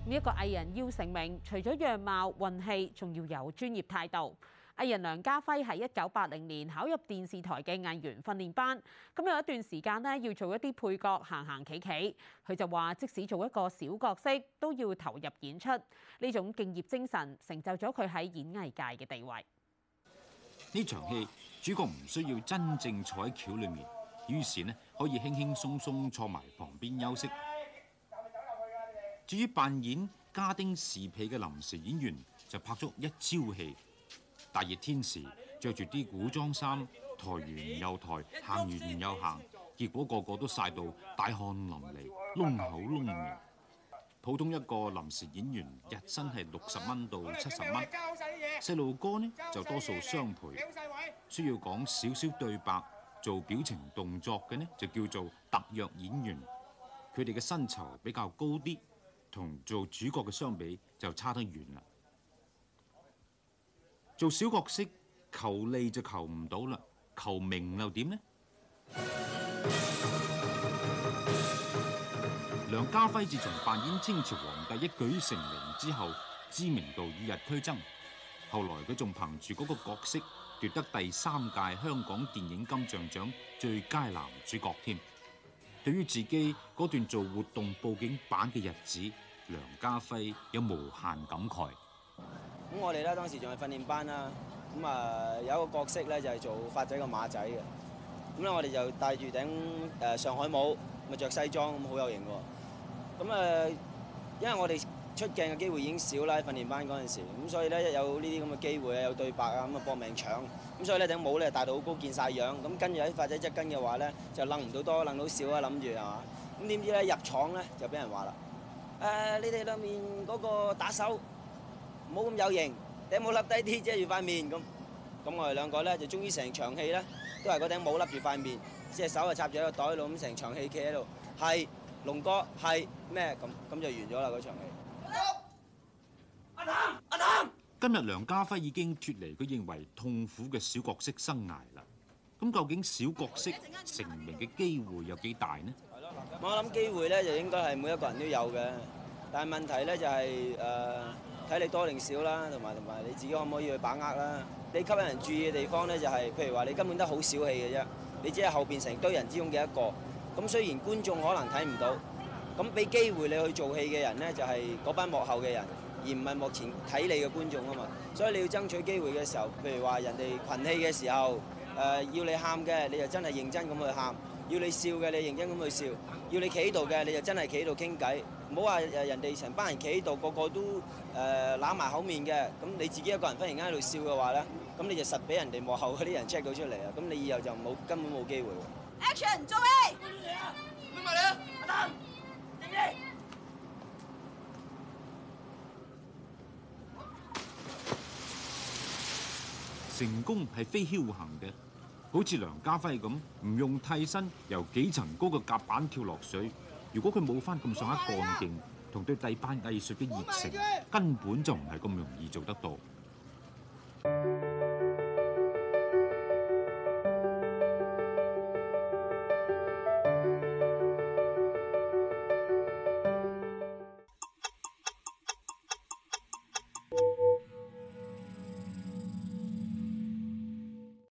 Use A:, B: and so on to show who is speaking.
A: 一個藝人要成名，除咗樣貌、運氣，仲要有專業態度。藝人梁家輝喺1980年考入電視台嘅藝員訓練班，咁有一段時間呢要做一啲配角，行行企企。佢就話，即使做一個小角色，都要投入演出。呢種敬業精神，成就咗佢喺演藝界嘅地位。
B: 呢場戲主角唔需要真正坐喺橋裏面，於是呢可以輕輕鬆鬆坐埋旁邊休息。至於扮演家丁侍婢嘅臨時演員，就拍足一朝戲。大熱天時，着住啲古裝衫，抬完又抬，行完又行，結果個個都曬到大汗淋漓，窿口窿面。普通一個臨時演員日薪係60蚊到70蚊，細路哥呢就多數雙倍，需要講少少對白、做表情動作嘅呢就叫做特約演員。佢哋嘅薪酬比較高啲，同做主角嘅相比就差得遠啦。做小角色求利就求唔到啦，求名又點呢？梁家輝自從扮演清朝皇帝一舉成名之後，知名度與日俱增。後來佢仲憑住嗰個角色奪得第3屆香港電影金像獎最佳男主角添。對於自己嗰段做活動佈景板嘅日子，梁家輝有無限感慨。
C: 咁我哋咧當時仲係訓練班啦，咁有一個角色咧就係做發仔個馬仔嘅，咁咧我哋就戴住頂上海帽，咪着西裝咁好有型喎。咁因為我哋出鏡嘅機會已經少啦，喺訓練班嗰陣時，咁所以咧一有呢啲咁嘅機會有對白啊，咁搏命搶，咁所以呢頂帽咧戴到好高見晒樣，咁跟住喺發仔側跟嘅話咧就掕唔到多，掕到少啊，諗住係嘛，咁點知咧入廠咧就俾人話啦，你哋兩面嗰個打手唔好咁有型，頂帽笠低啲遮住塊面咁。咁我哋兩個咧就終於成場戲咧都係嗰頂帽笠住塊面，隻手就插住喺個袋度，咁成場戲企喺度，係龍哥係咩咁就完咗啦嗰場戲。
D: 阿譚，
B: 今日梁家輝已經脫離佢認為痛苦嘅小角色生涯啦。咁究竟小角色成名嘅機會有幾大呢？
C: 我諗機會咧就應該係每一個人都有嘅，但係問題咧就係睇你多定少啦，同埋你自己可唔可以去把握啦？你吸引人注意嘅地方咧就係，譬如話你根本都好小氣嘅啫，你只係後邊成堆人之中嘅一個。咁雖然觀眾可能睇唔到，咁俾機會你去做戲嘅人咧就係嗰班幕後嘅人，而唔係幕前睇你嘅觀眾啊嘛。所以你要爭取機會嘅時候，譬如話人哋群戲嘅時候，要你喊嘅你就真係認真咁去喊。要你笑嘅，你認真咁去笑；要你企喺度嘅，你就真係企喺度傾偈。唔好話人哋成班人企喺度，個個都揦埋口面嘅。咁你自己一個人忽然間喺度笑嘅話咧，咁你就實俾人哋幕後嗰啲人 check 到出嚟啊！咁你以後就根本冇機會。
D: Action，做戲！咩埋你啊？阿譚，靜啲！
B: 成功係非僥倖嘅。好似梁家輝咁，唔用替身由幾層高嘅甲板跳落水，如果佢冇翻咁上下幹勁同對第班藝術嘅熱誠，根本就唔係咁容易做得到。